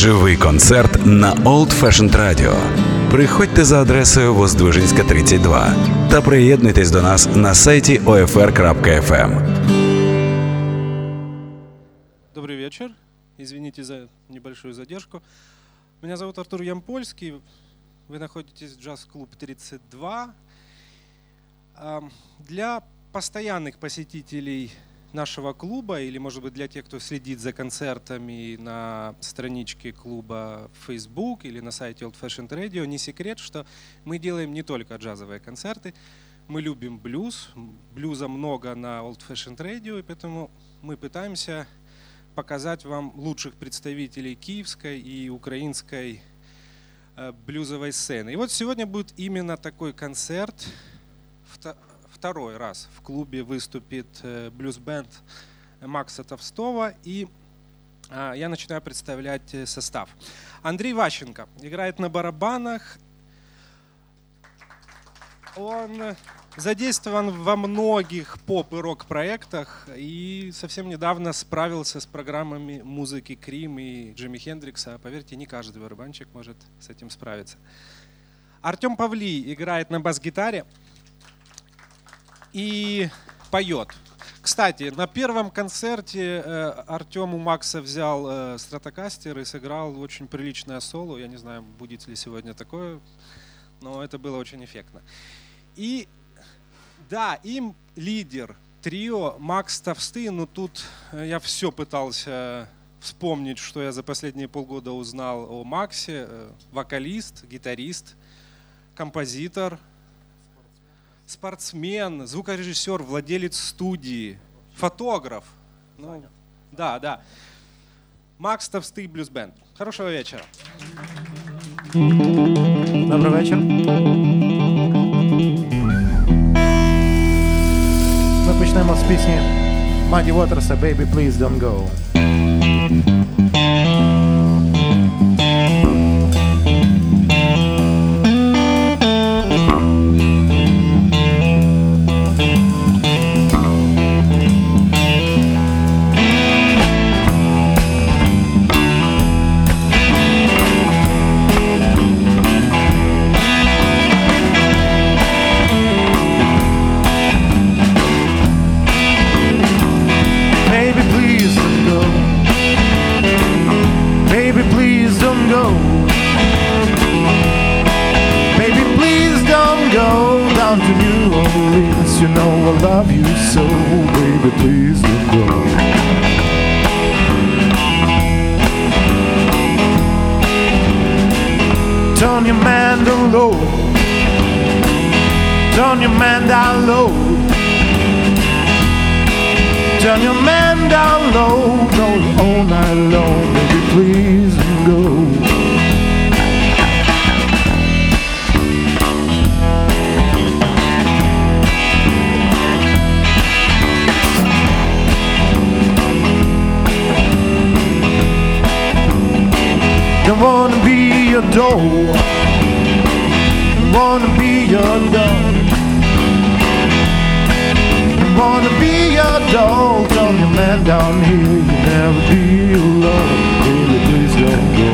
Живий концерт на Old Fashioned Radio. Приходьте за адресою Воздвиженська, 32 та приєднуйтесь до нас на сайті OFR.FM. Добрый вечер. Извините за небольшую задержку. Меня зовут Артур Ямпольский. Вы находитесь в джаз-клуб 32. Для постоянных посетителей нашего клуба, или, может быть, для тех, кто следит за концертами на страничке клуба в Facebook или на сайте Old Fashioned Radio, не секрет, что мы делаем не только джазовые концерты. Мы любим блюз. Блюза много на Old Fashioned Radio, и поэтому мы пытаемся показать вам лучших представителей киевской и украинской блюзовой сцены. И вот сегодня будет именно такой концерт. Второй раз в клубе выступит блюз-бенд Макса Товстого, и я начинаю представлять состав. Андрей Ващенко играет на барабанах. Он задействован во многих поп- и рок-проектах и совсем недавно справился с программами музыки Крим и Джимми Хендрикса. Поверьте, не каждый барабанщик может с этим справиться. Артем Павлий играет на бас-гитаре и поет. Кстати, на первом концерте Артем у Макса взял стратокастер и сыграл очень приличное соло. Я не знаю, будет ли сегодня такое, но это было очень эффектно. И да, им лидер трио Макс Товстый, но тут я все пытался вспомнить, что я за последние полгода узнал о Максе. Вокалист, гитарист, композитор, спортсмен, звукорежиссер, владелец студии, фотограф. Ну, да. Макс Товстый блюз-бенд. Хорошего вечера. Добрий вечір. Ми почнемо з пісні Muddy Waters «Baby, please don't go». You know I love you so, baby, please don't go. Turn your man down low. Turn your man down low. Turn your man down low. Don't all night long, baby, please don't go. Don't wanna be your doll. Don't wanna be your doll. Don't wanna be your doll. Turn your man down here. You never be alone. Baby, please don't go.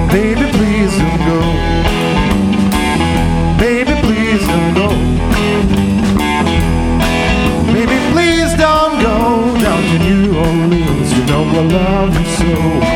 Baby, please don't go. Baby, please don't go. Baby, please don't go down to New Orleans. You know I love you so.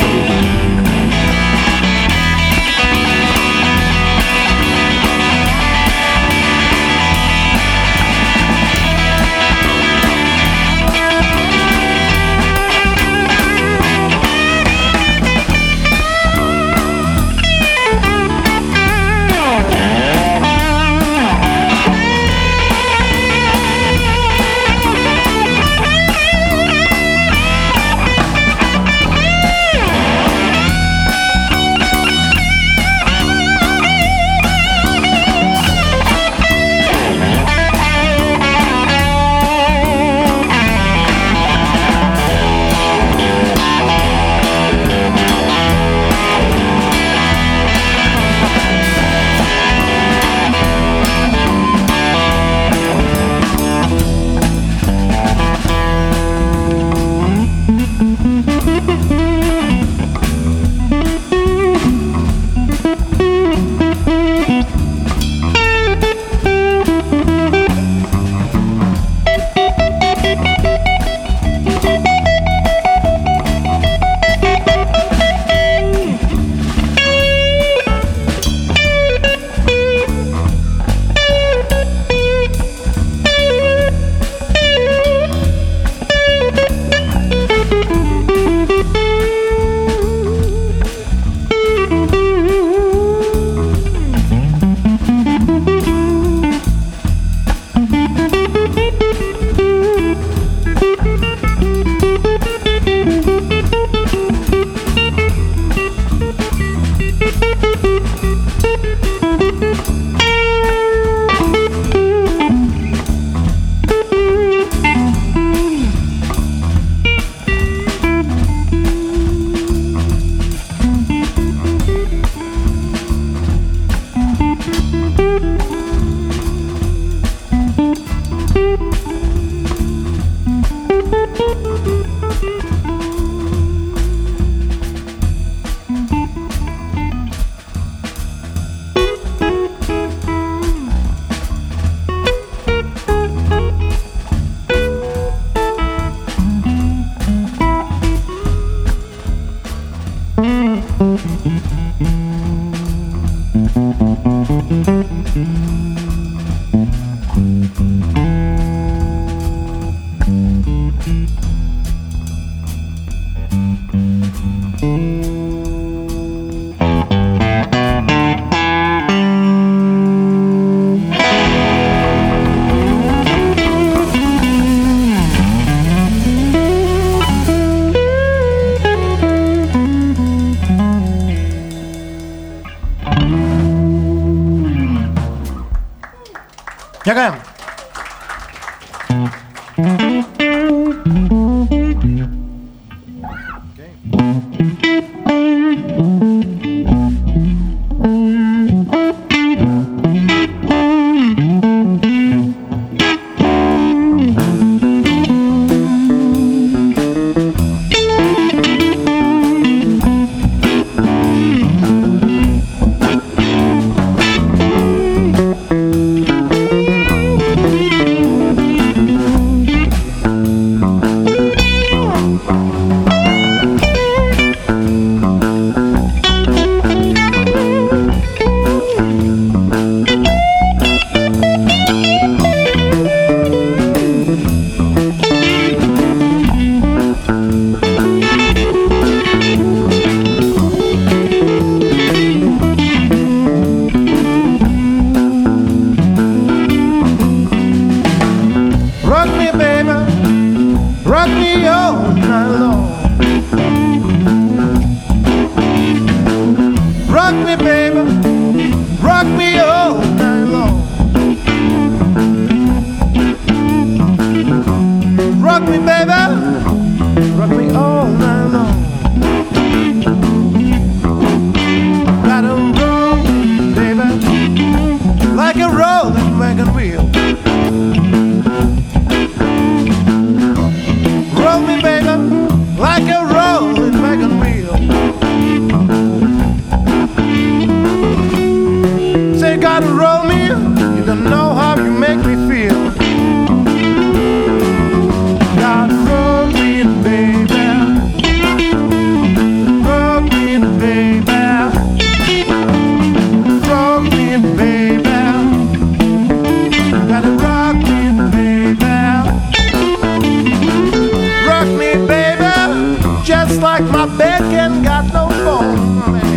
Дякуємо. gotta roll me, you don't know how you make me feel. Gotta roll me, baby. Roll me, baby. Roll me, baby. Gotta rock me, baby. Rock me, baby. Just like my bed ain't got no bone, baby.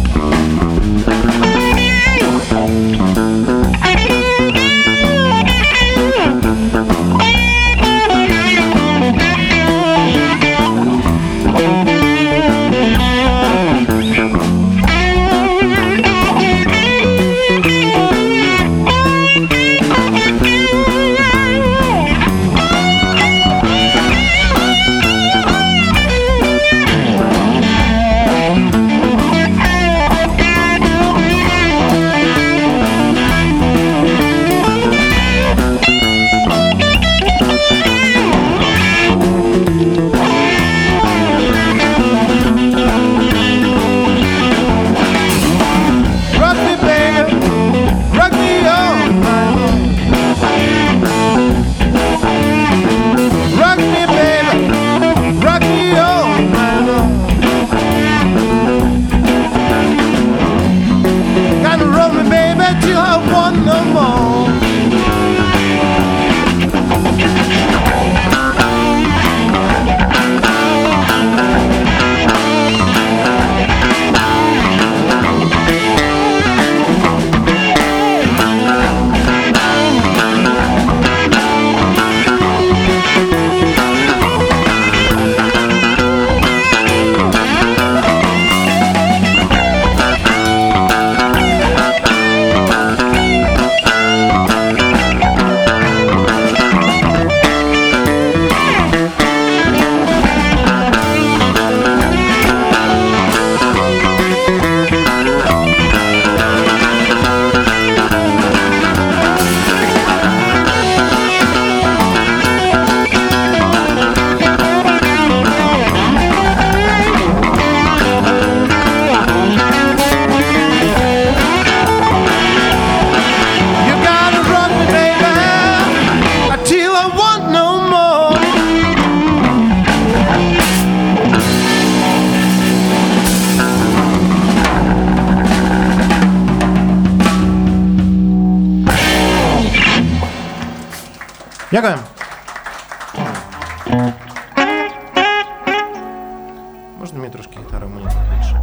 Дякую. Можна мені трошки гітару, мені більше?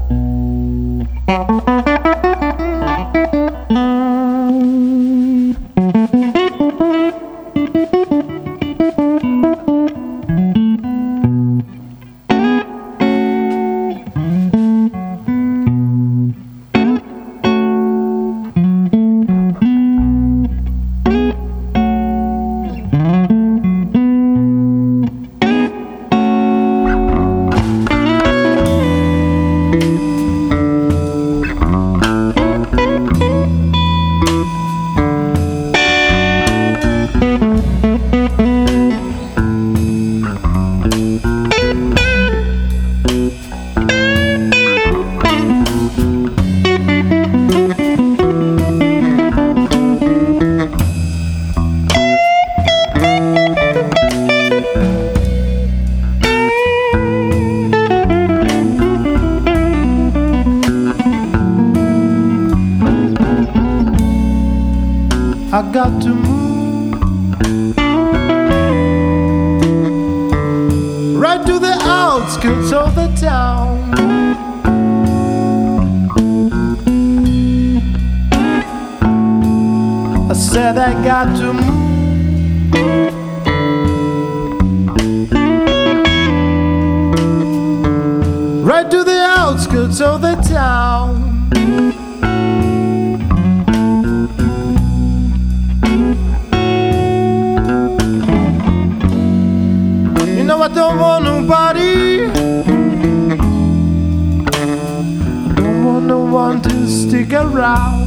I got to move right to the outskirts of the town. I said I got to move right to the outskirts of the town. I don't want nobody, I don't want no one to stick around.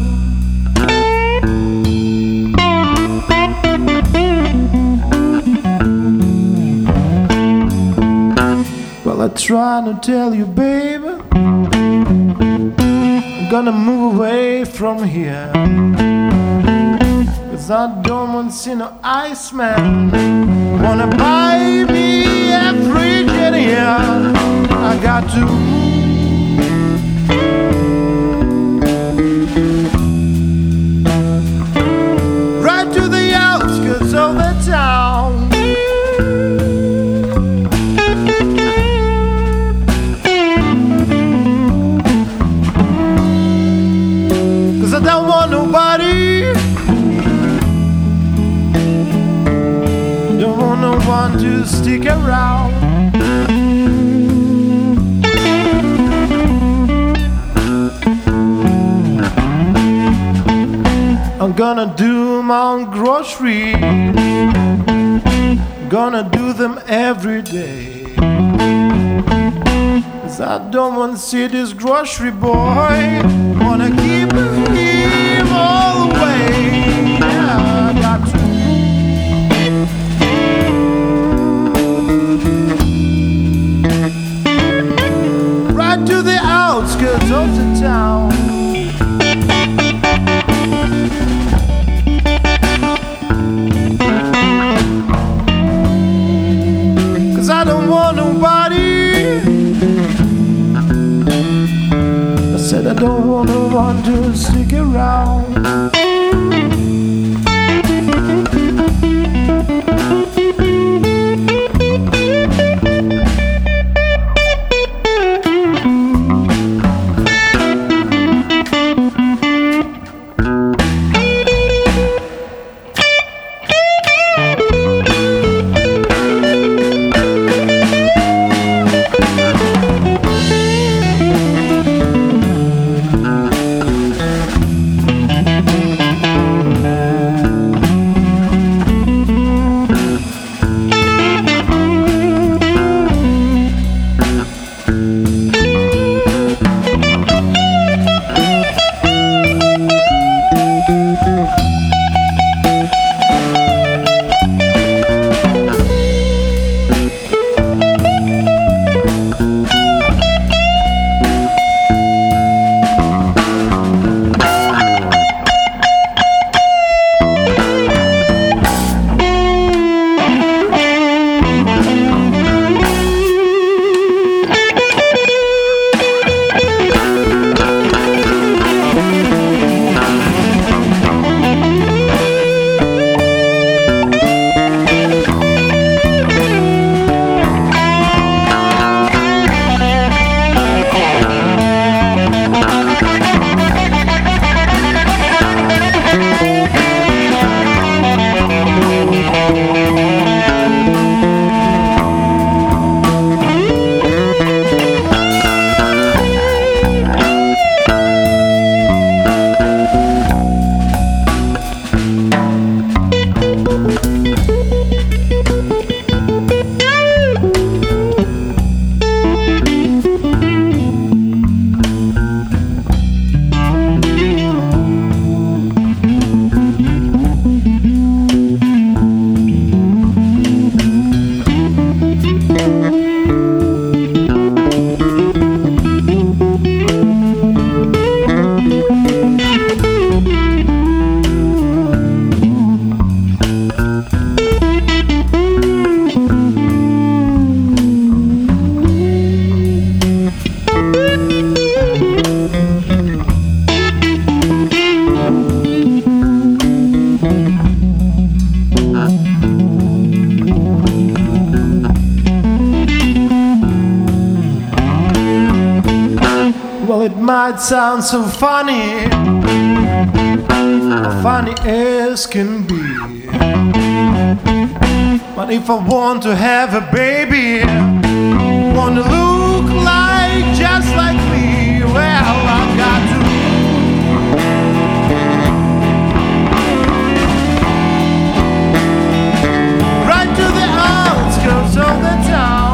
Well, I try to tell you, baby, I'm gonna move away from here. 'cause I don't want to see no Iceman. Wanna buy me a Virginia, I got to right to the outskirts of the town. I don't want nobody, don't want no one to stick around. I'm gonna do my own groceries, gonna do them every day. 'Cause I don't want to see this grocery boy, wanna keep him all the way. Yeah, I got to. Right to the outskirts of the town. I don't want nobody. I said I don't want no one to stick around. It might sound so funny, funny as can be, but if I want to have a baby, want to look like just like me, well, I've got to right to the outskirts of the town.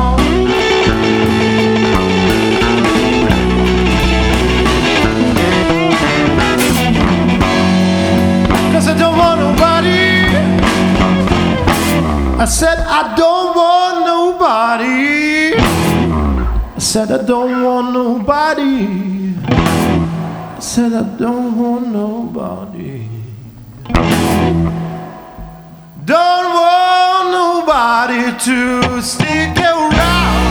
I don't want nobody. I said I don't want nobody. I said I don't want nobody. I said I don't want nobody. nobody to stick around.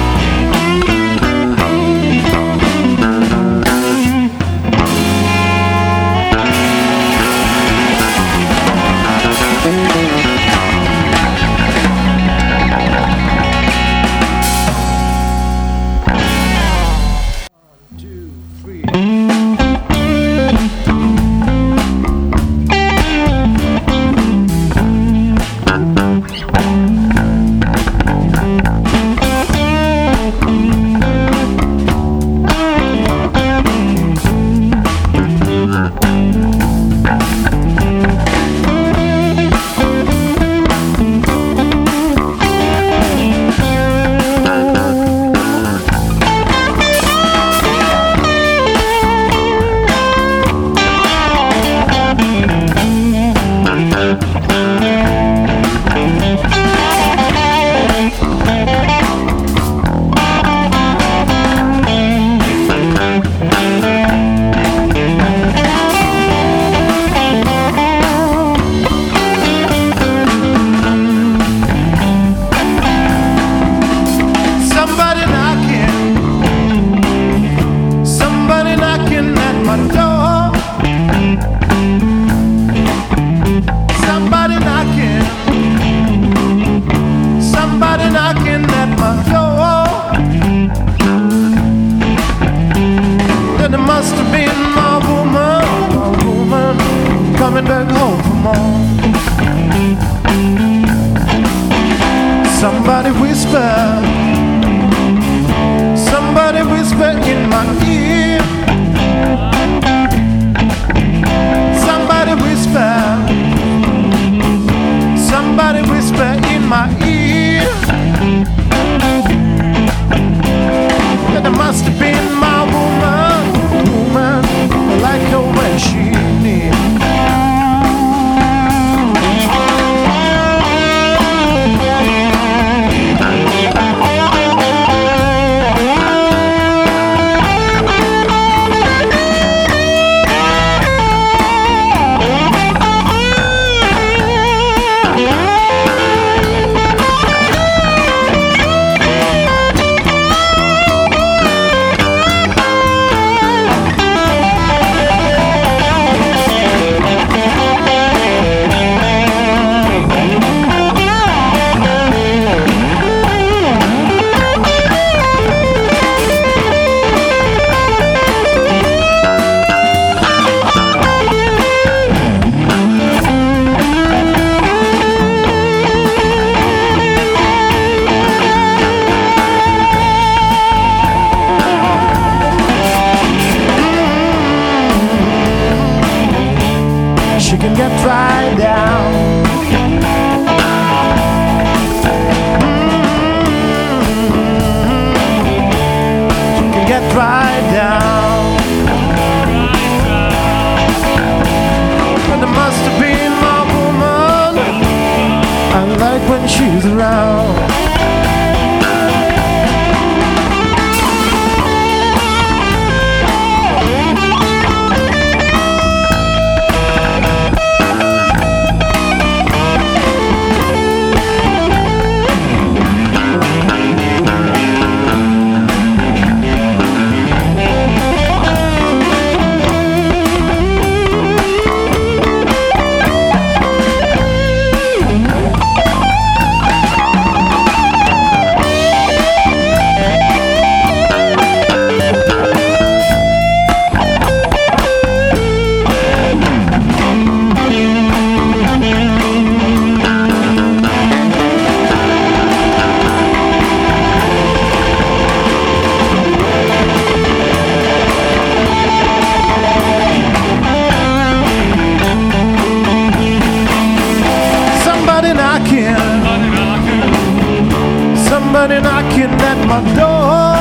Somebody knocking at my door.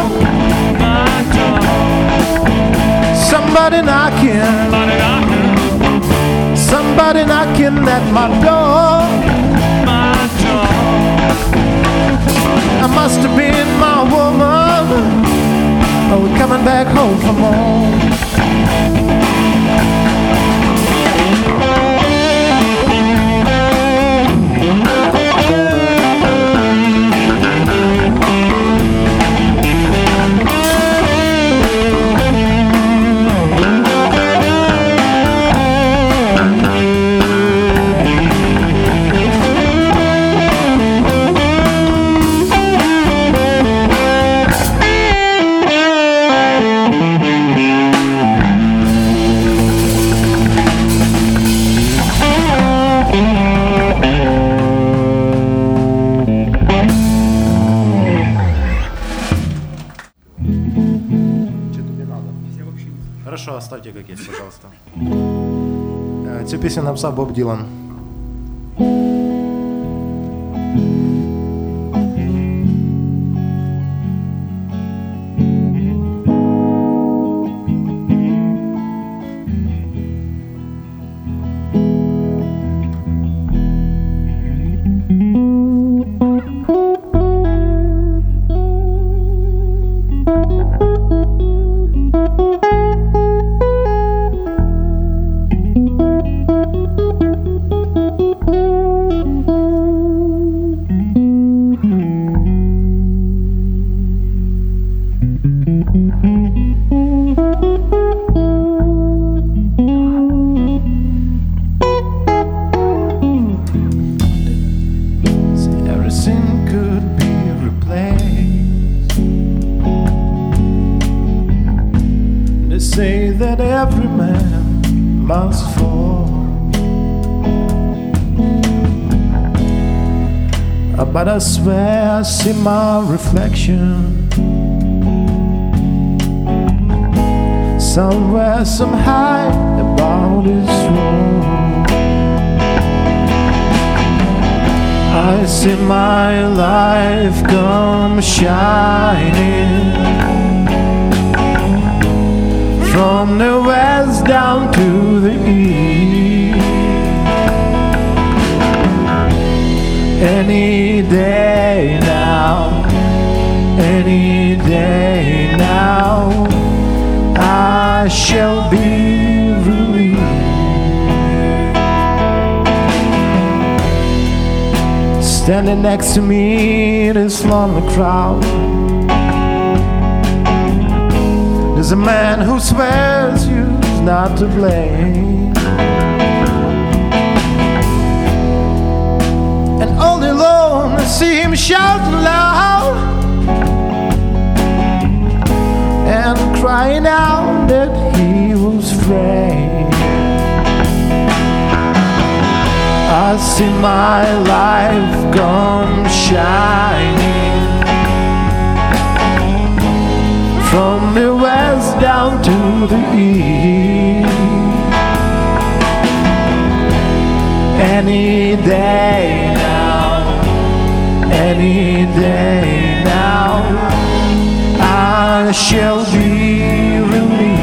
Somebody knocking. Somebody knocking at my door. I must have been my woman. Oh, we're coming back home from home. Хорошо, оставьте как есть, пожалуйста. Цю пісню написав Боб Ділан. Say that every man must fall, but I swear I see my reflection somewhere, somehow about this world. I see my life come shining from the west down to the east. Any day now, any day now, I shall be released. Standing next to me, this lonely crowd, there's a man who swears you's not to blame, and all day long I see him shouting loud and crying out that he was framed. I see my life come shining from the west down to the east. Any day now, any day now, I shall be released.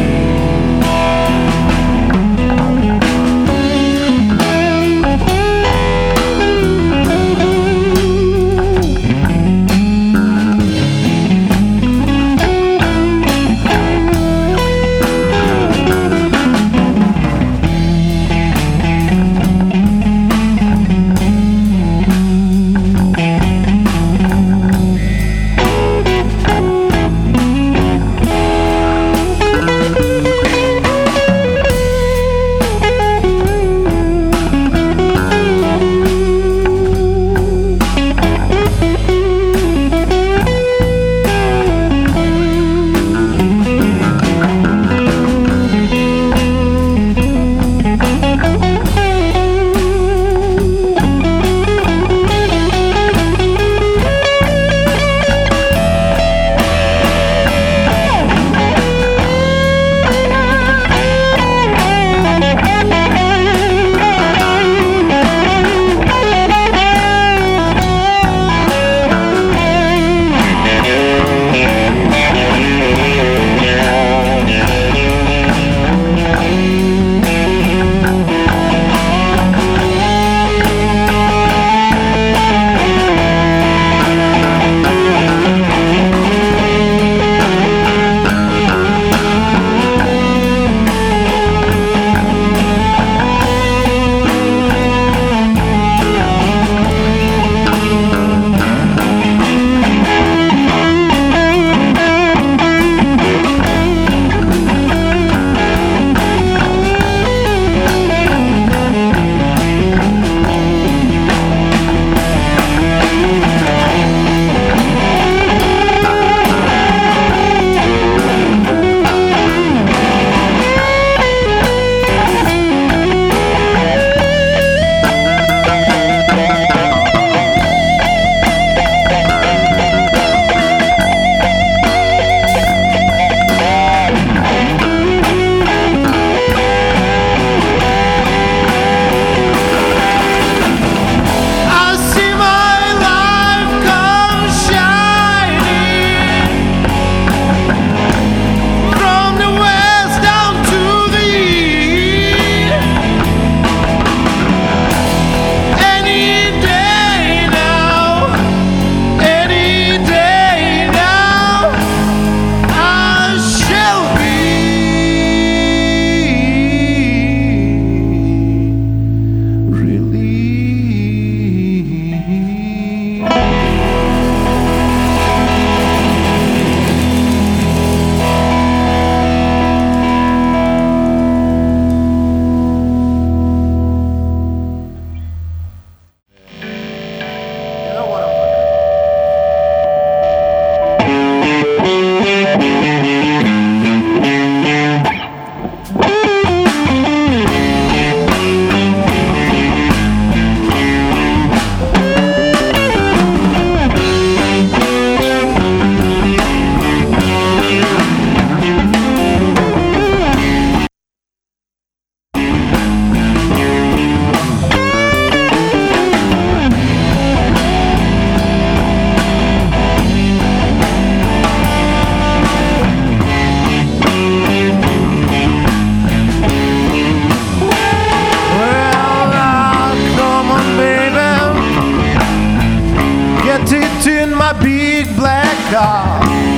car.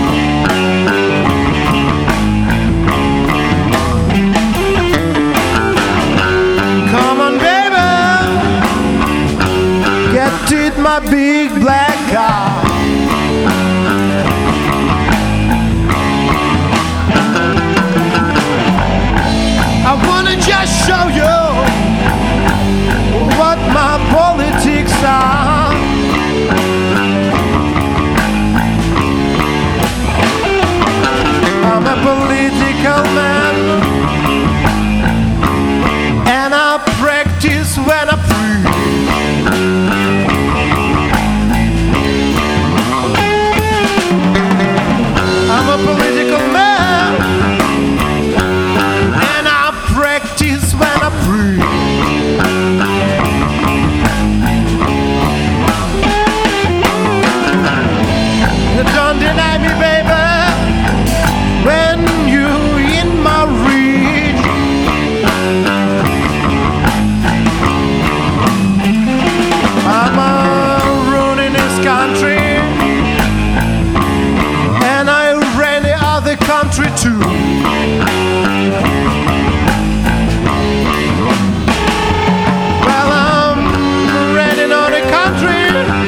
Come on, baby, get in my big black car. I wanna just show you what my politics are. I'm a political man, and I practice when I preach. I'm a political man, and I practice when I preach. Don't deny me, baby, when you in my reach. I'm ruining this country, and I ran the other country too. Well, I'm running on the country,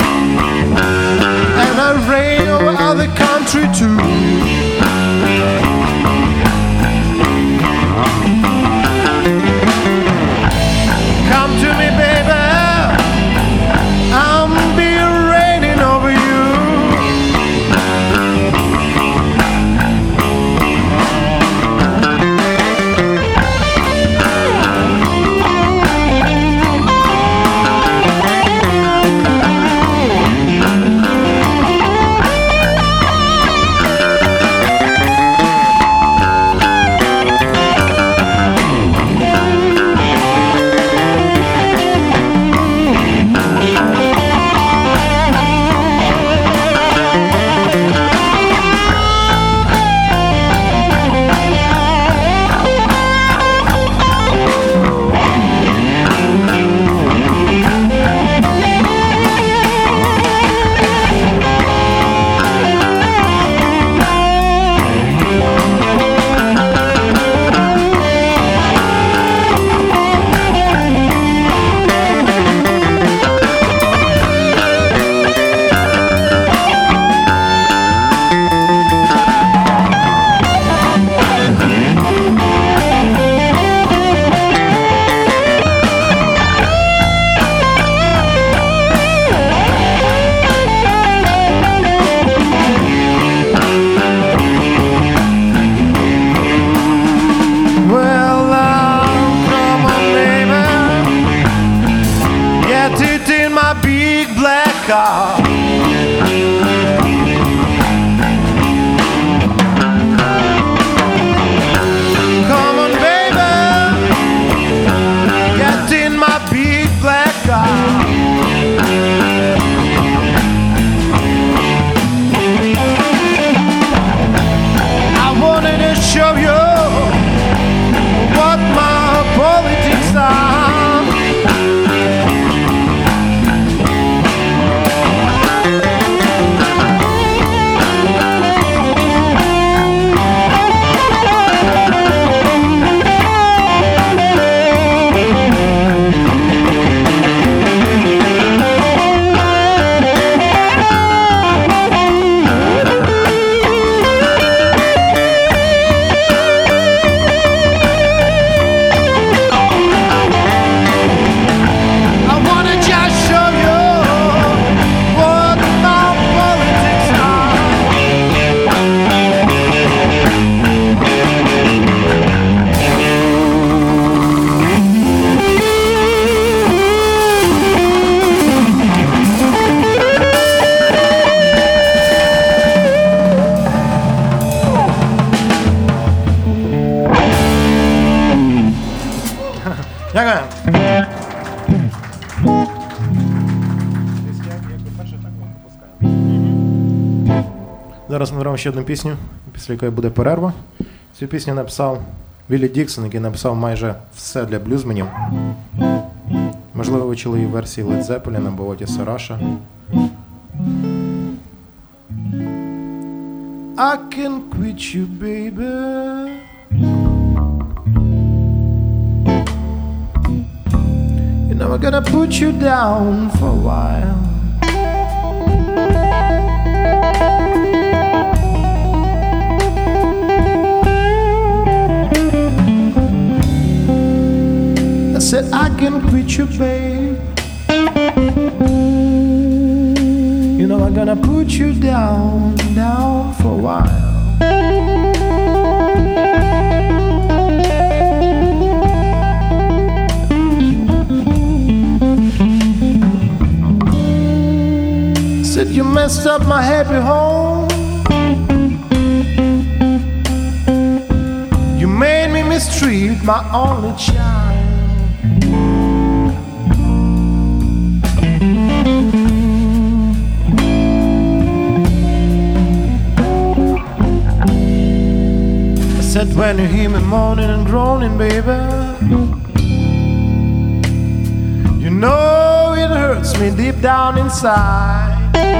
and I ran over other country too. Come to me, baby, I'm be raining over you. Дякую. Зараз ми граємо ще одну пісню, після якої буде перерва. Цю пісню написав Віллі Діксон, який написав майже все для блюзменів. Можливо, ви чули її в версії Led Zeppelin або Отіса Раша. I can quit you, baby. You know I'm gonna put you down for a while. I said I can quit you, babe. You know I'm gonna put you down for a while. Said you messed up my happy home. You made me mistreat my only child. Said when you hear me moaning and groaning, baby, you know it hurts me deep down inside.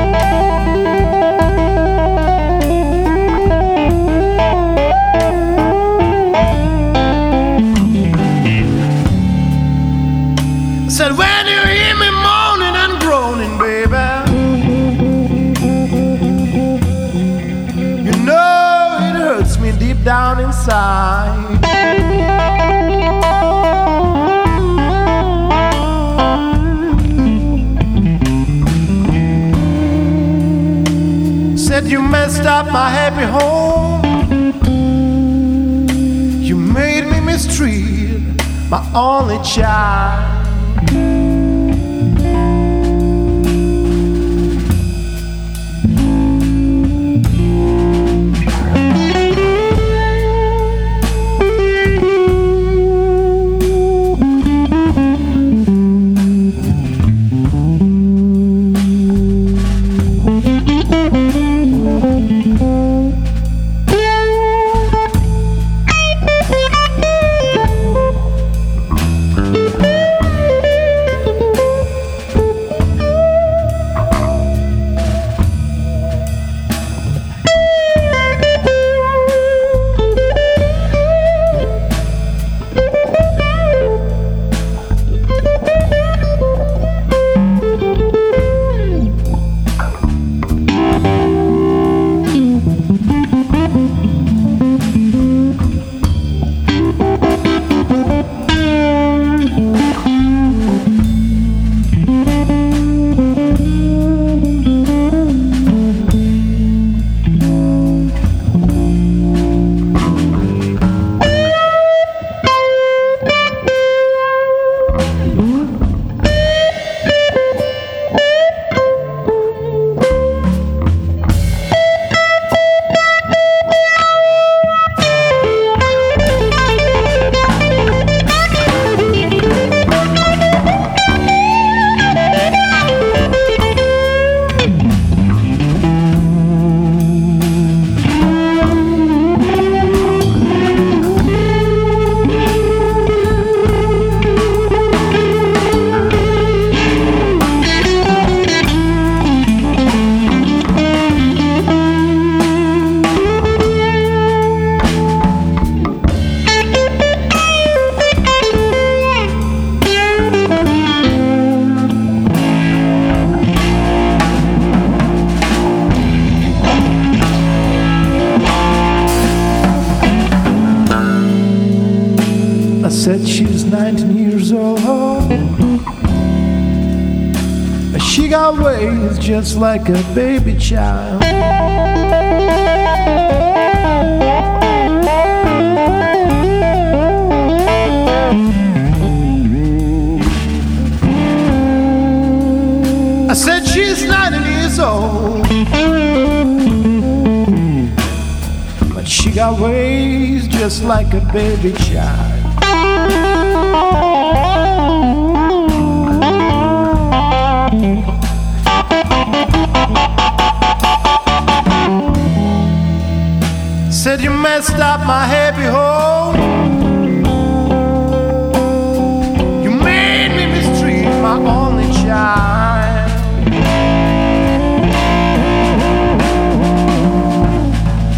Said when you hear me moaning and groaning, baby, you know it hurts me deep down inside. Said you messed up my happy home. You made me mistreat my only child. Said she's 19 years old. She got ways just like a baby child. I said she's 19 years old, but she got ways just like a baby child. Said you messed up my happy home. You made me mistreat my only child.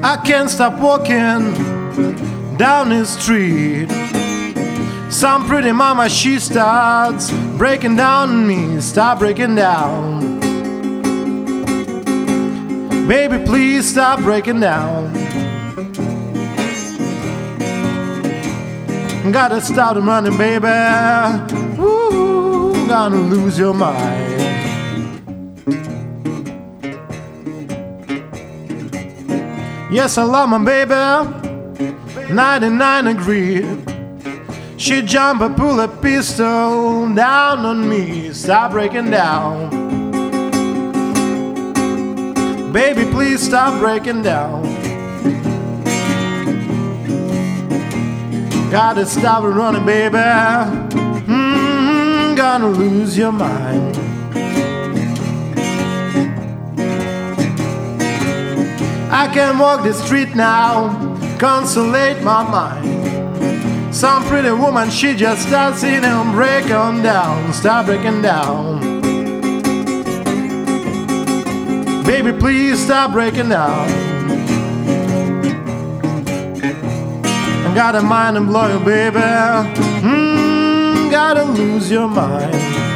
I can't stop walking down the street. Some pretty mama, she starts breaking down on me. Stop breaking down. Baby, please stop breaking down. Gotta start running, baby. Ooh, gonna lose your mind. Yes, I love my baby, 99 degree. She jump and pull a pistol down on me. Stop breaking down. Baby, please stop breaking down. Gotta stop running, baby. Gonna lose your mind. I can walk the street now, consolate my mind. Some pretty woman, she just starts in and break on down. Stop breaking down. Baby, please stop breaking down. I got a mind and blow you, baby. Gotta lose your mind.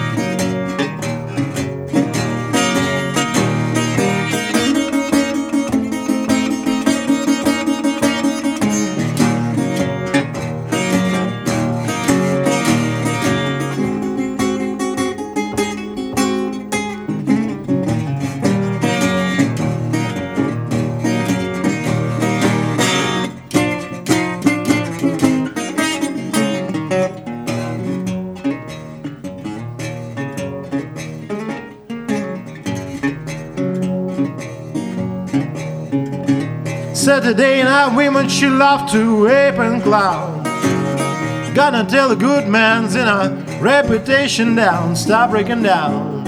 Saturday night women, she love to ape and clown. Gonna tell the good man's in a reputation down. Stop breaking down.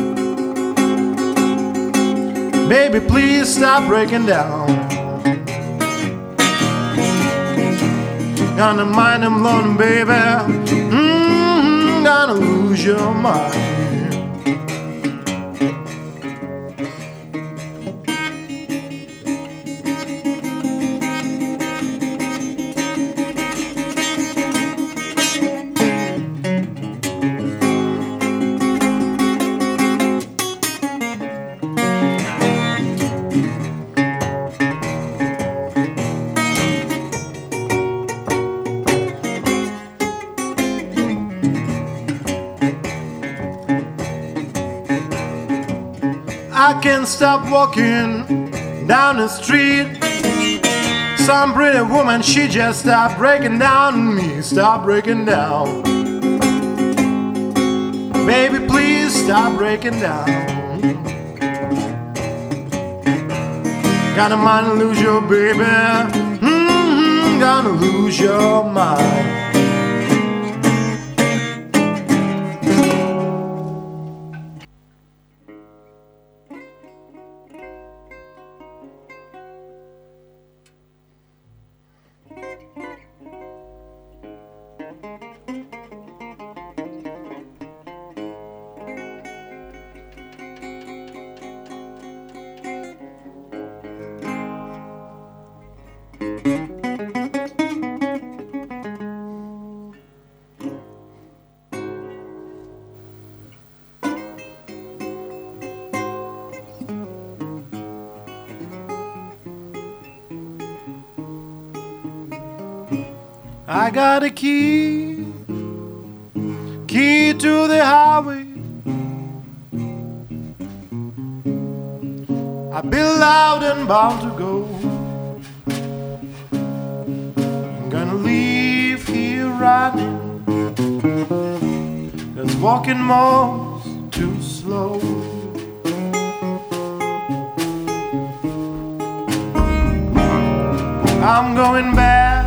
Baby, please stop breaking down. Gonna mind them lonely, baby. Gonna lose your mind. I can't stop walking down the street. Some pretty woman, she just stopped breaking down on me. Stop breaking down. Baby, please stop breaking down. Got a mind to lose your baby. Gonna lose your mind. I got a key to the highway. I've been loud and bound to go. I'm gonna leave here running. Cause walking more's too slow. I'm going back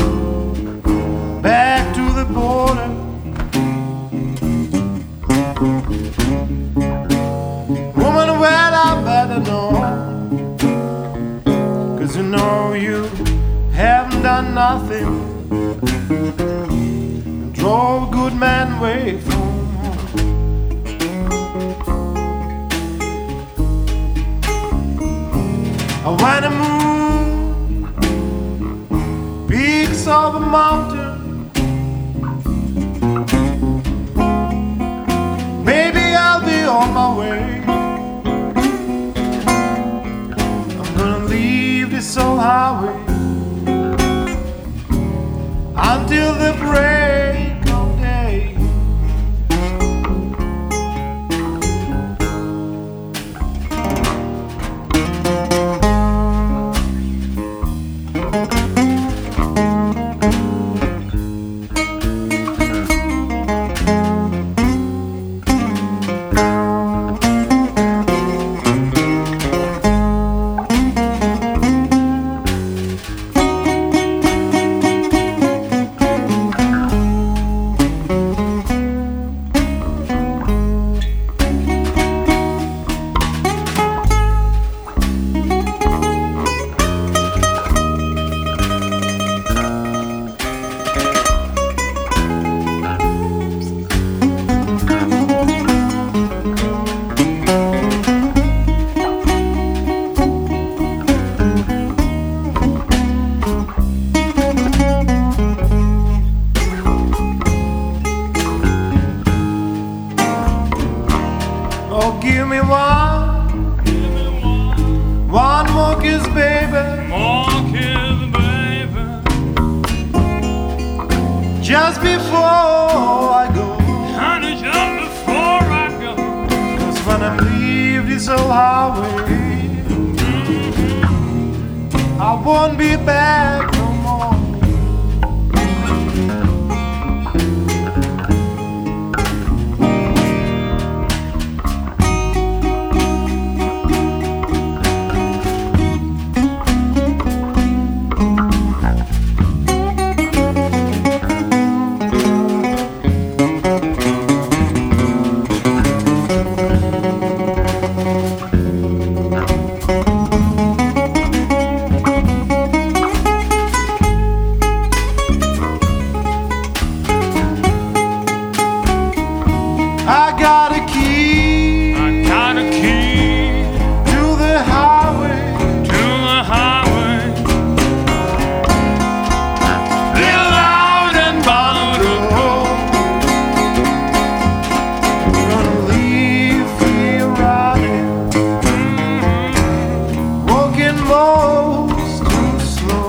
to the border. Woman, well, I better know. Cause you know you haven't done nothing. Drove a good man away from home. When the moon base of a mountain. Maybe I'll be on my way. I'm gonna leave this old highway until the break of day. Oh, give me one more kiss, baby. More kiss, baby. Just before I go. Honey, just before I go. 'Cause when I leave this old highway, I won't be back no more. I got a key I got a key to the highway. to the highway. Live loud and bottled up. Gonna leave here riding, walking most too slow.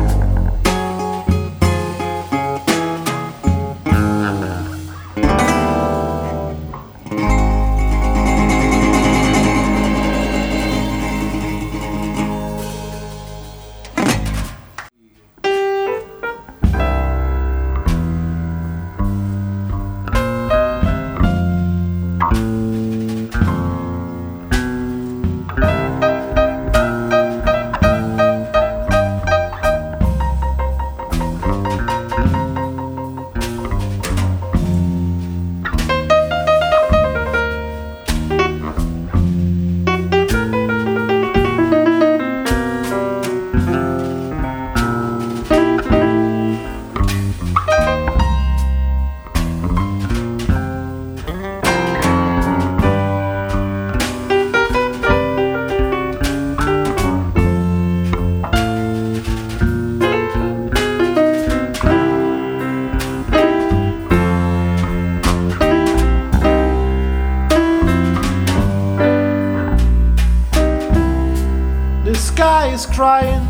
The sky is crying.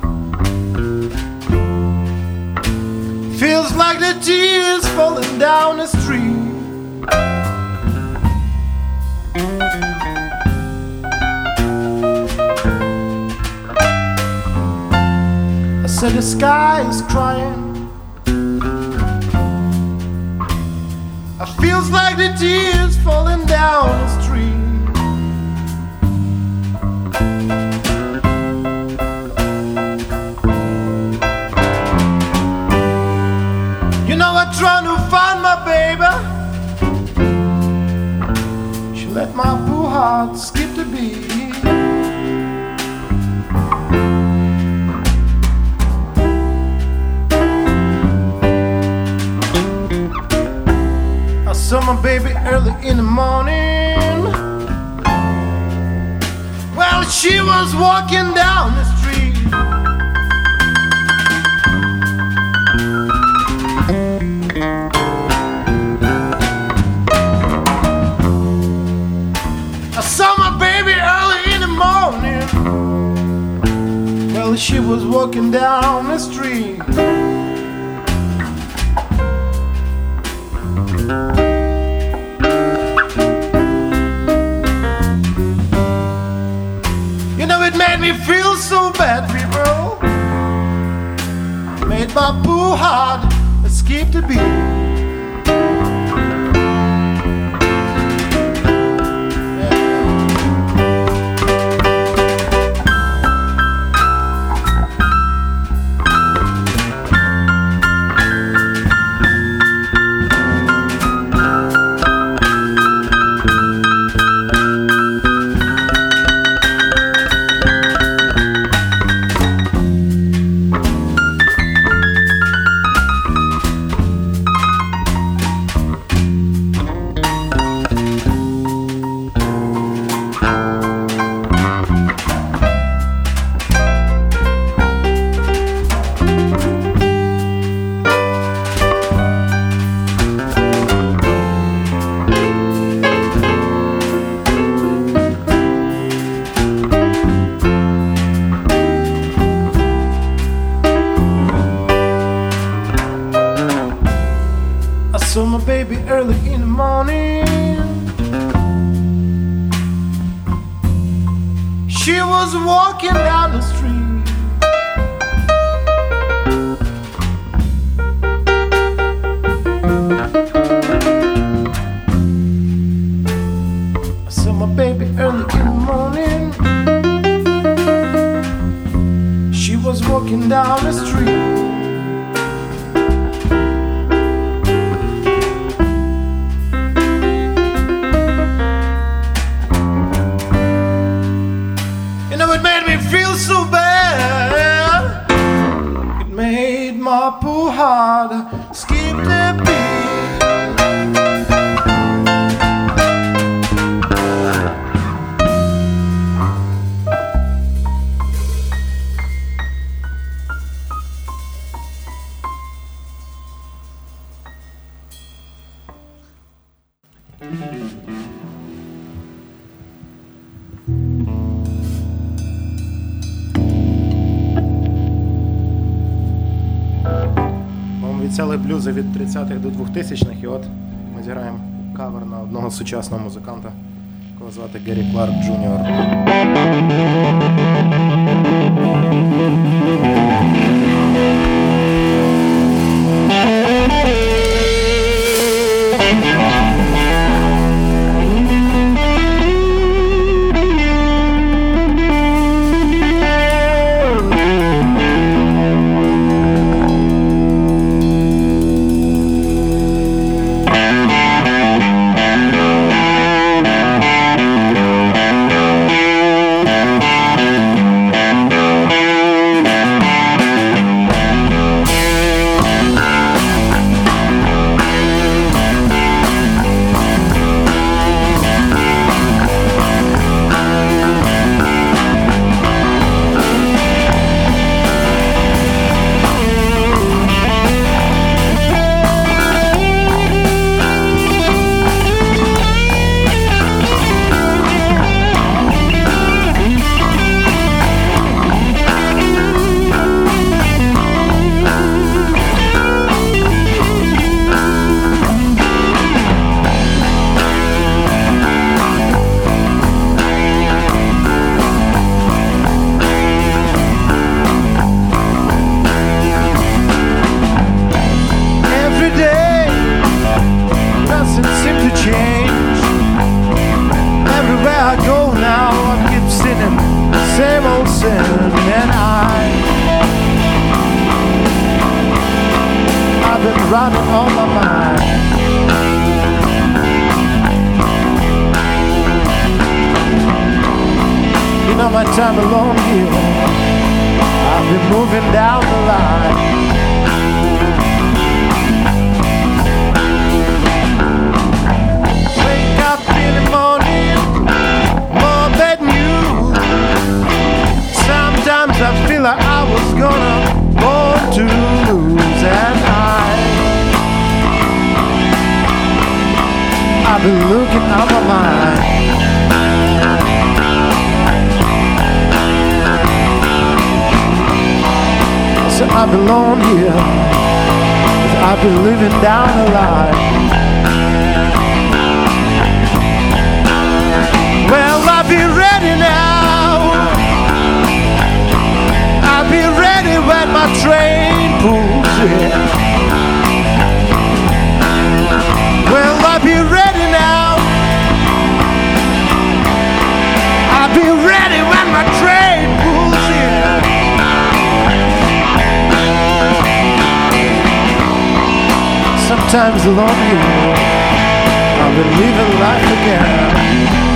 Feels like the tears falling down the street. I said the sky is crying. It feels like the tears falling down the street. You know I'm trying to find my baby. She let my poor heart skip the beat. I saw my baby early in the morning. Well, she was walking down the street. Well, she was walking down the street. You know, it made me feel so bad, people. Made my poor heart skip the beat. Saw my baby early in the morning. She was walking down the street. I saw my baby early in the morning. She was walking down the street. So bad, it made my poor heart skip the beat. Обіцяли блюзи від 30-х до 2000-х, і от ми зіграємо кавер на одного сучасного музиканта, якого звати Гері Кларк Джуніор. Running on my mind. You know my time alone here, I've been moving down the line. Wake up in the morning, more bad news. Sometimes I feel like I was gonna born to lose, and I've been looking out my mind. I belong here. I've been living down the line. Well, I'll be ready now. I'll be ready when my train pulls in. Well, I'll be ready now. I'll be ready when my train pulls in. Sometimes alone here, I've been living life again.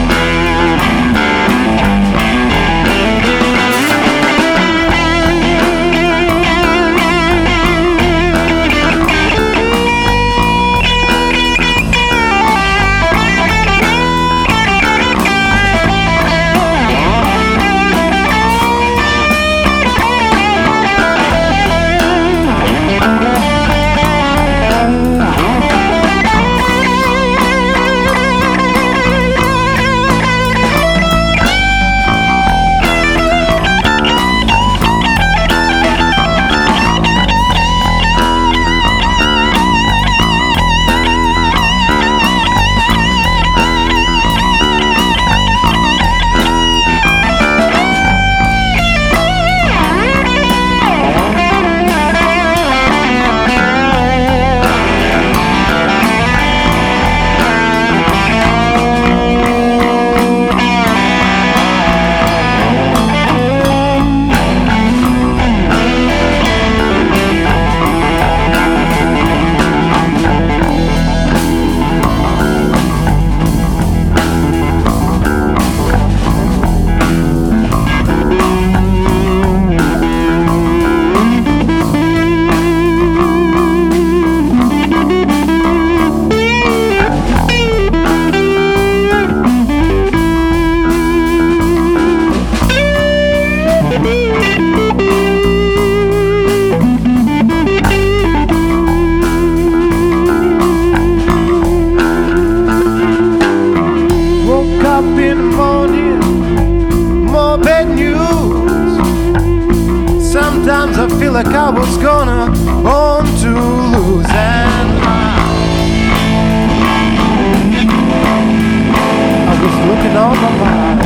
Sometimes I feel like I was gonna born to lose, and I was looking on my mind.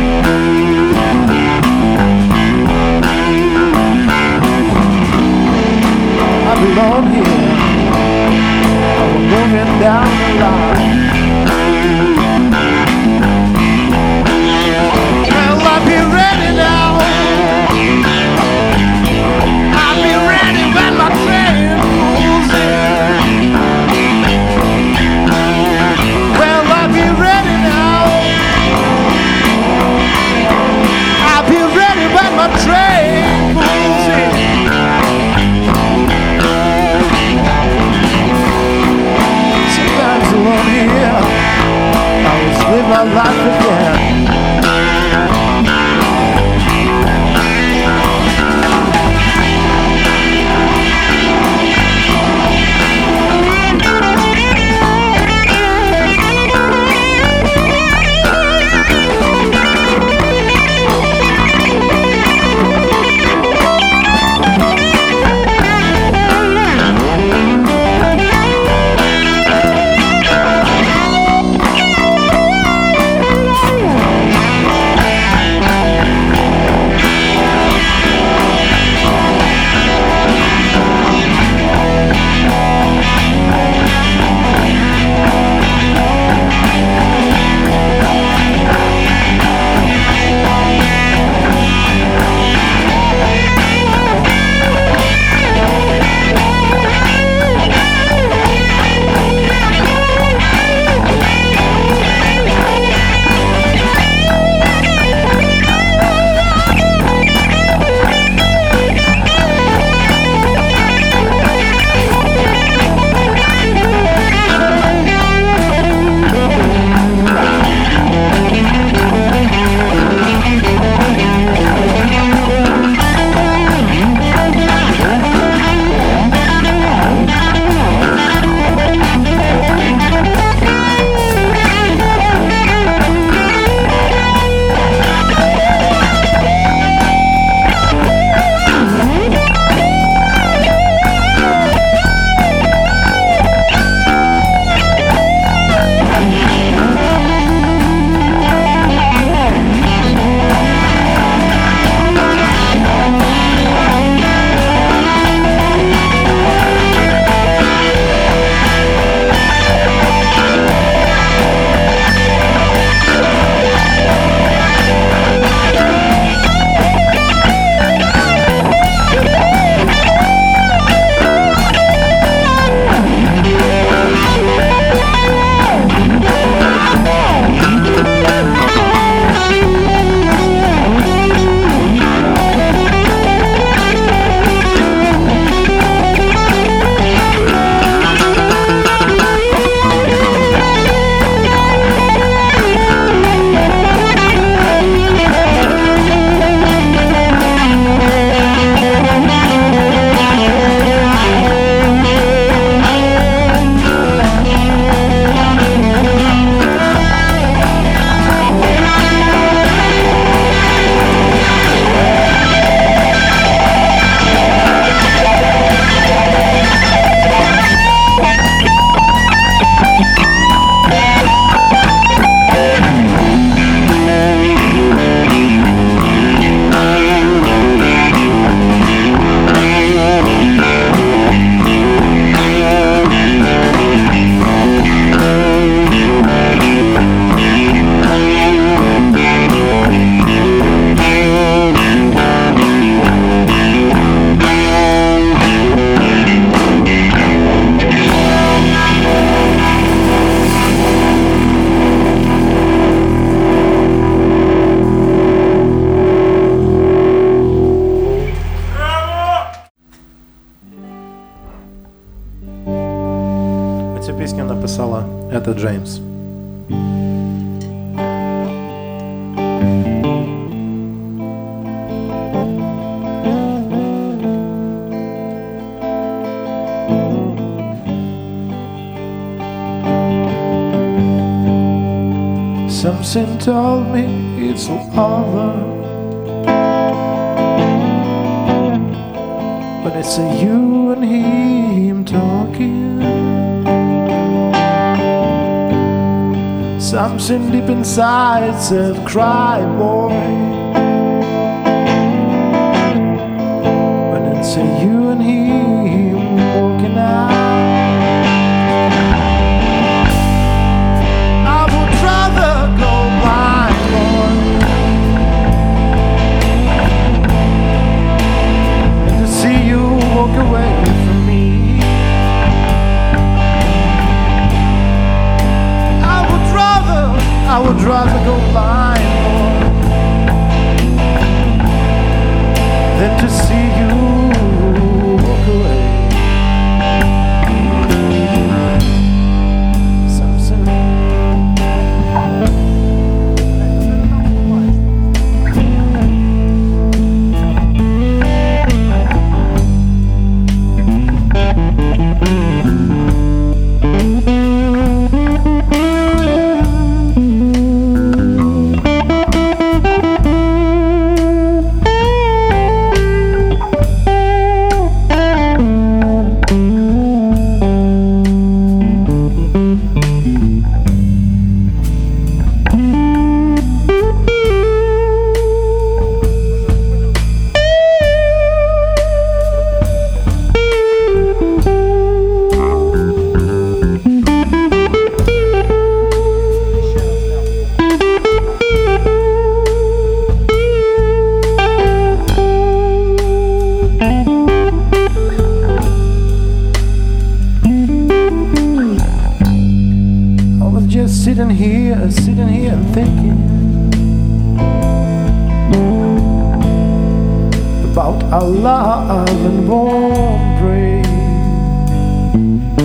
I belong here. I'm moving down the line. Well, I'll be ready now. I'll be ready when my train pulls in. Well, I'll be ready now. Это Джеймс. Something told me it's all over when it's you and him talking. Something deep inside said, cry boy, when it's you and him walking out. Walk away from me. I would rather go blind, Lord, than to see you walk away. Sitting here and thinking about our love and warm praise,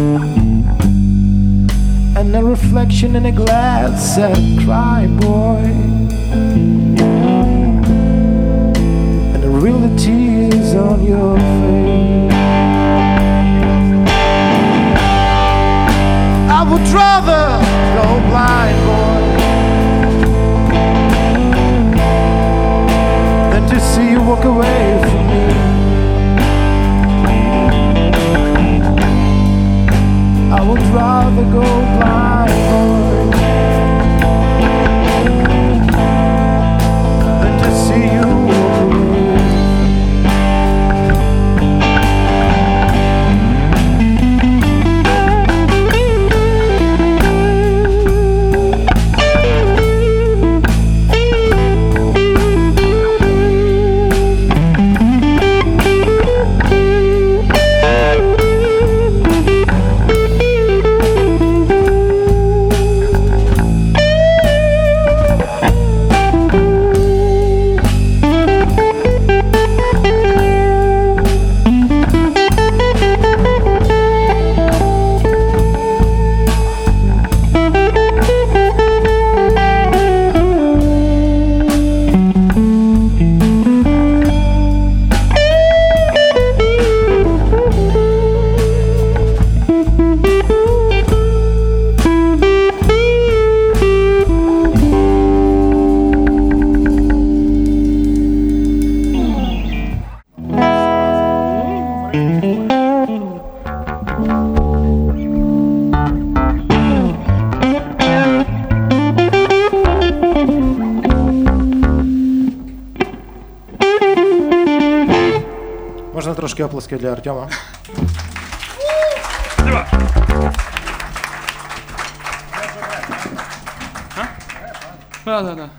and a reflection in a glass said, cry boy, and the real tears on your face. I would rather go blind, boy, than to see you walk away from me. I would rather go blind, boy, than to see you walk away. Можна трошки оплески для Артема. Да.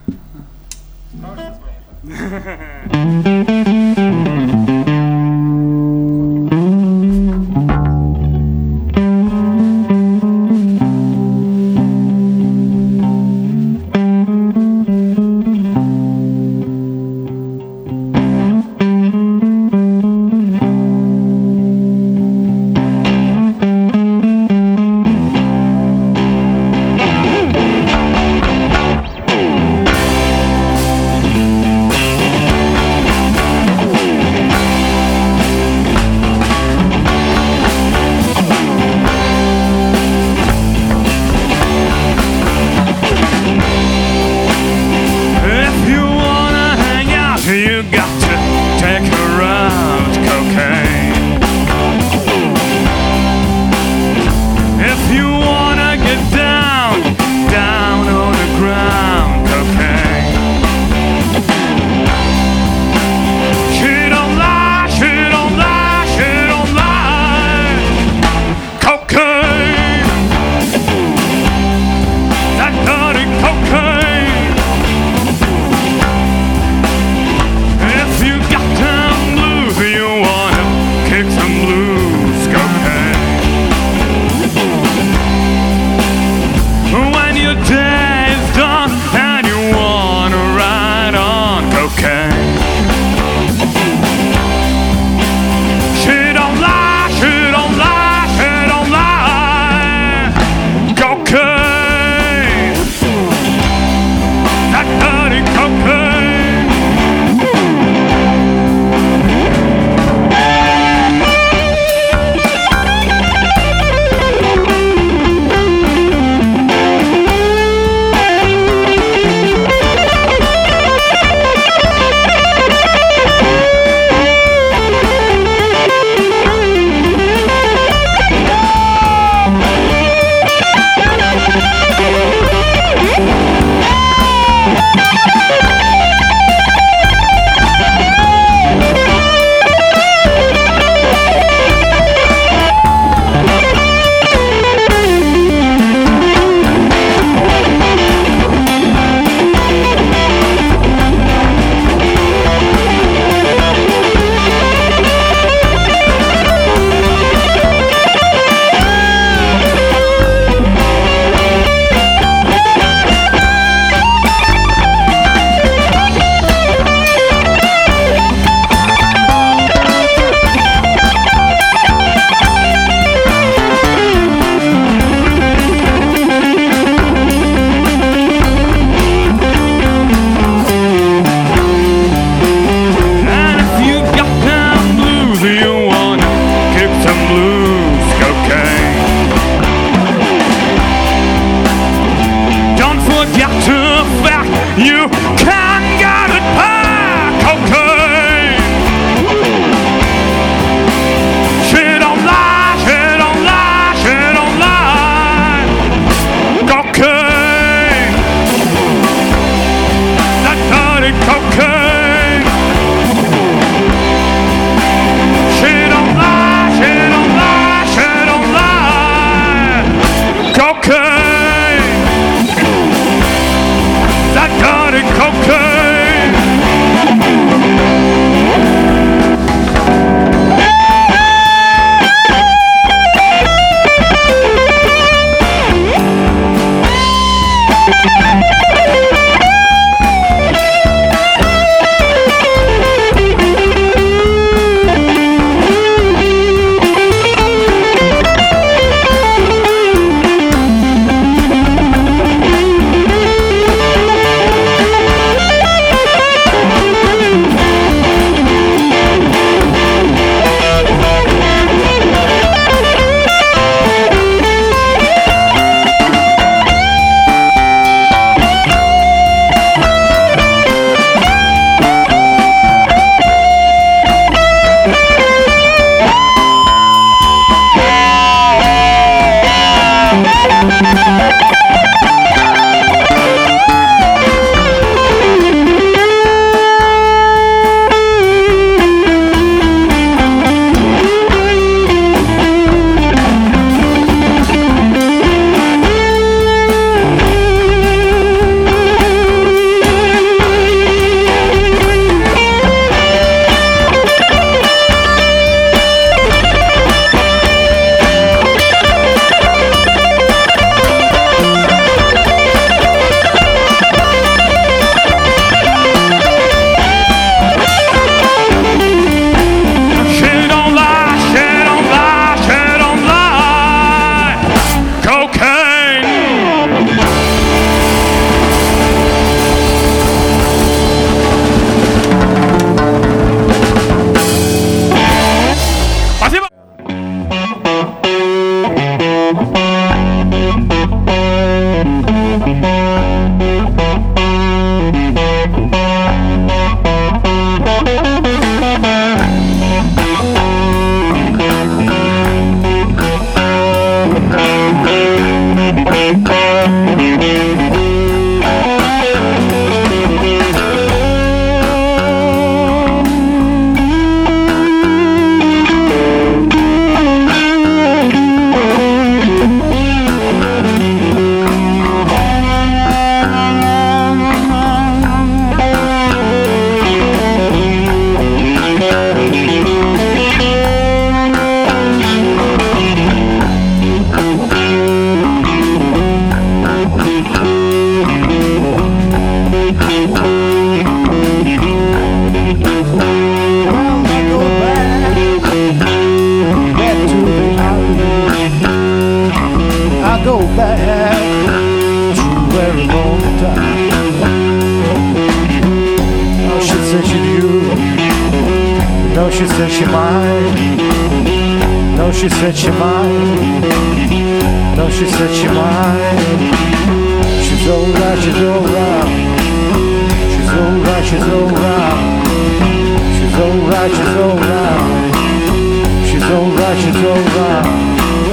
Oh, she said she knew. No, she said she might. No, she said she might. No, she said she might. She's alright, she's alright. She's alright, she's alright. She's alright, she's alright. She's alright, she's alright.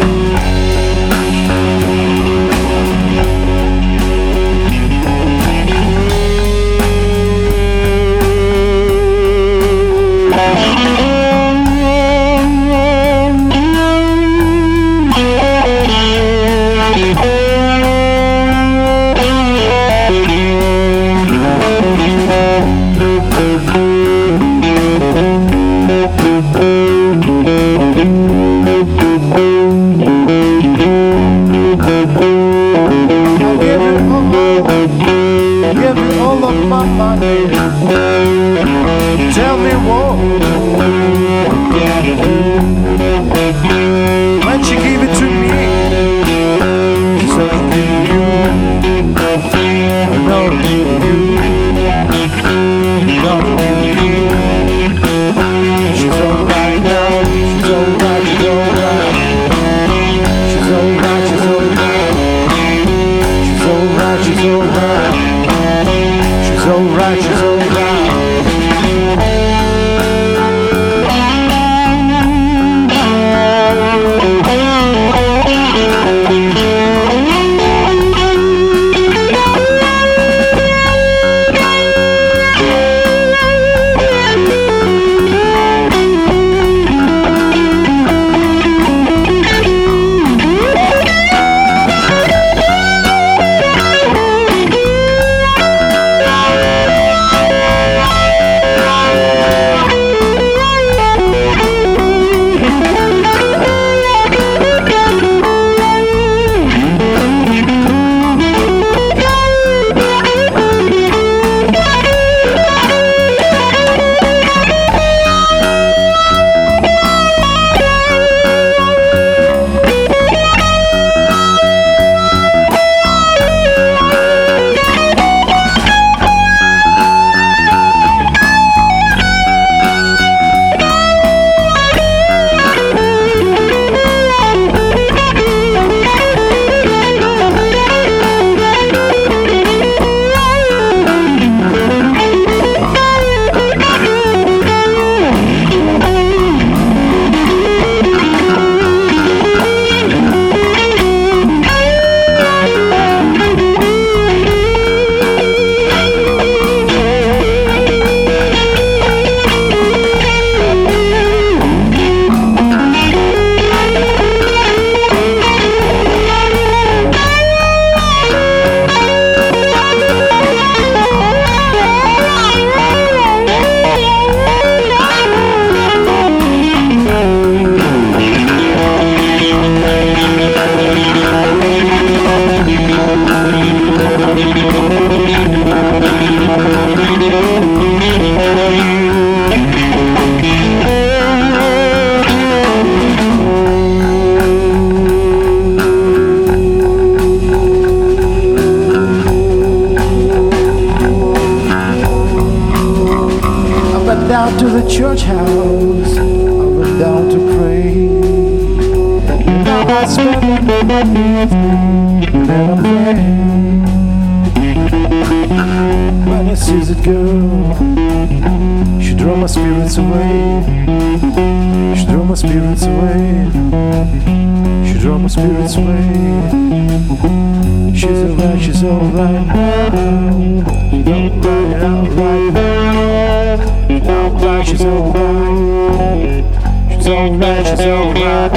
Tell me what can I do? When she gave it to me, she said I'll give you. No, I'll give you. No, I'll give you. She's alright now. She's alright. She's alright. She's alright. She's alright. She's alright. She's alright. She's alright. She's alright. Down to the church house, I went down to pray. And now I spend the night and I pray. When I see that girl, she drew my spirits away. She drew my spirits away. She drew my spirits away. She's alright, she's alright now. She's alright, alright now. Alright, she's alright. She's alright, she's alright.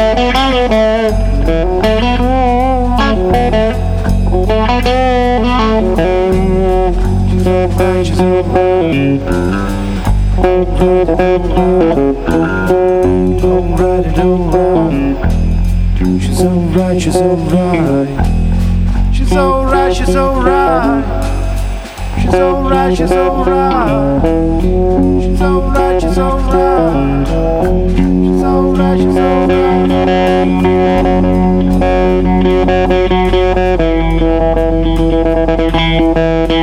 She's alright, she's alright. Alright and alright. She's alright, she's alright. She's alright, she's alright. She's alright, she's alright. She's alright, she's alright. She's alright, she's alright.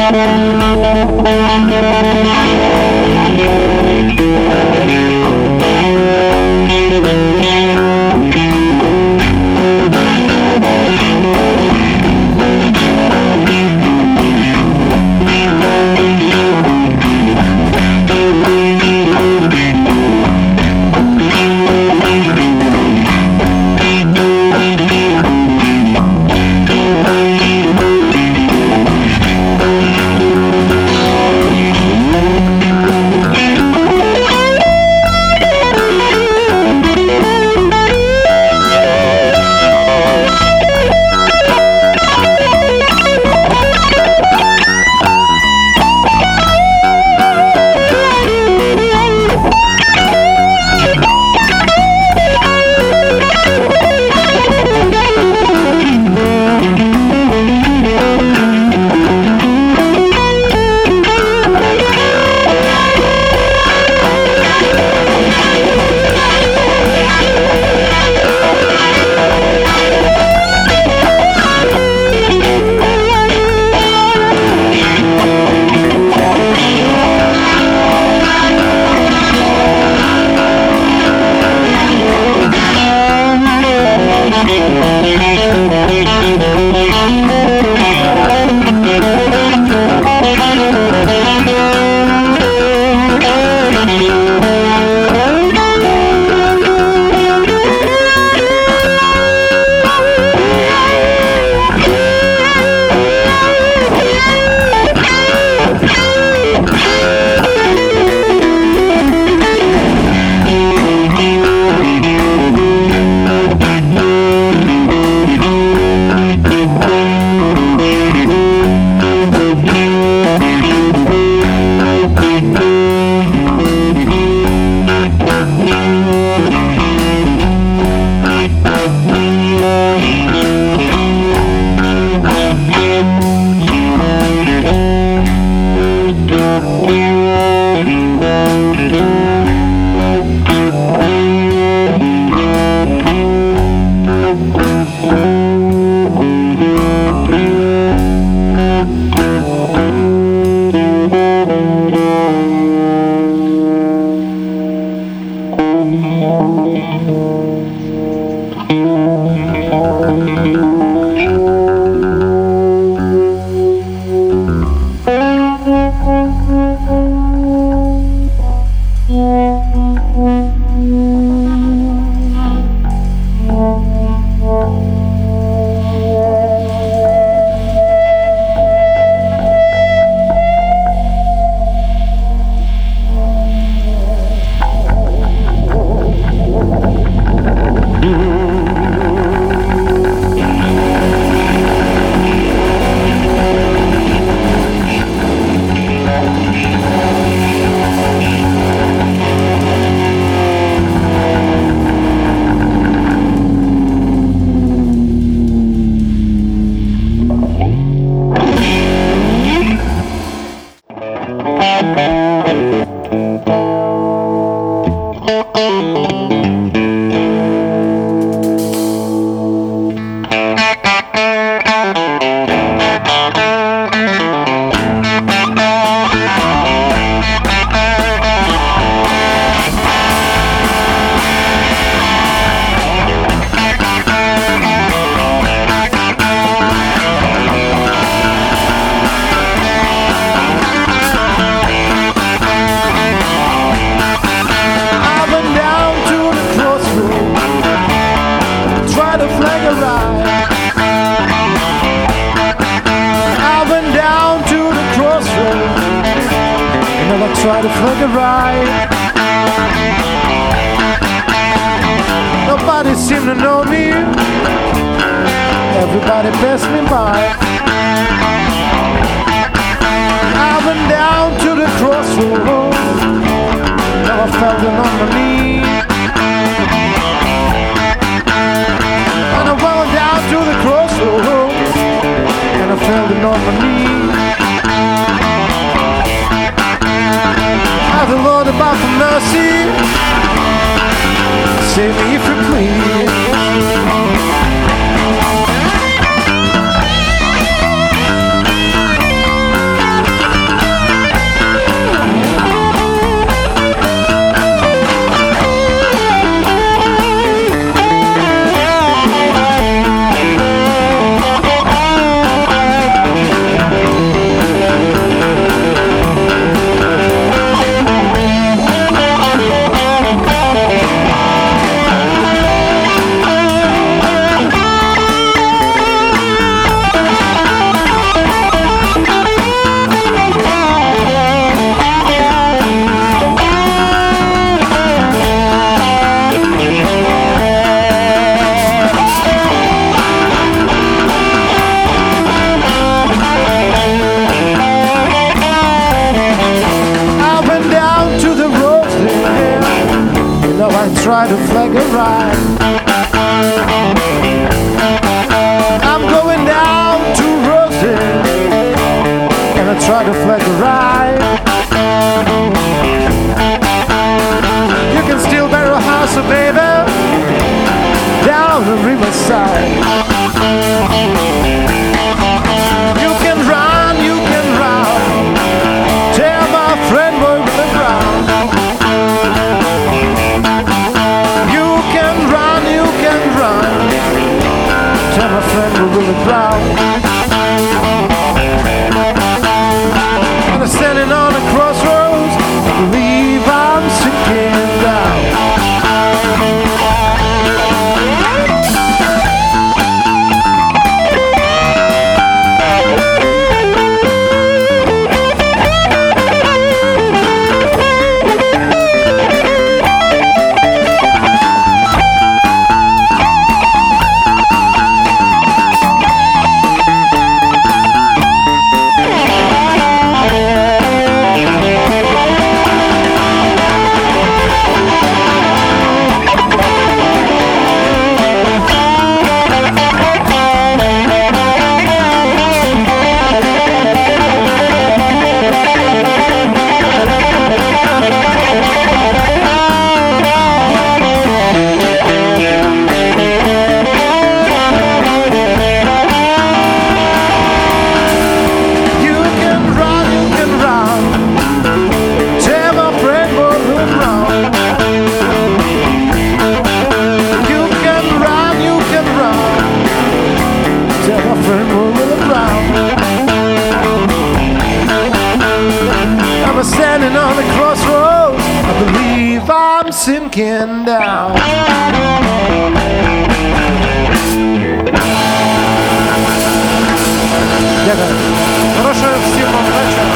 Try to flag a ride. Nobody seemed to know me. Everybody passed me by. I went down to the crossroads. Now I fell down on my knee. And I went down to the crossroads. And I fell down on my knee. The Lord about for mercy, save me if you please. flag a ride. I'm going down to Rosie, gonna try to flag a ride. You can still bury a house, oh baby, down the riverside. You can run, tell my friend boy with the ground. You can run, tell my friend boy with the ground. And I'm standing on a crossroads, I believe I'm sinking down. Standing on the crossroads, I believe I'm sinking down. Дякую. Хорошого всім вам вечора.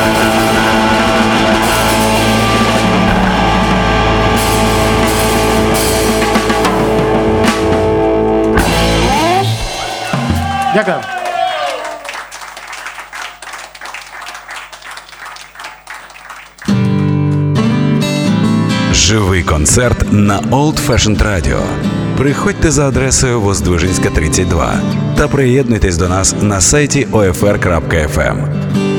Дякую. Живий концерт на Old Fashioned Radio. Приходьте за адресою Воздвиженська, 32 та приєднуйтесь до нас на сайті OFR.FM.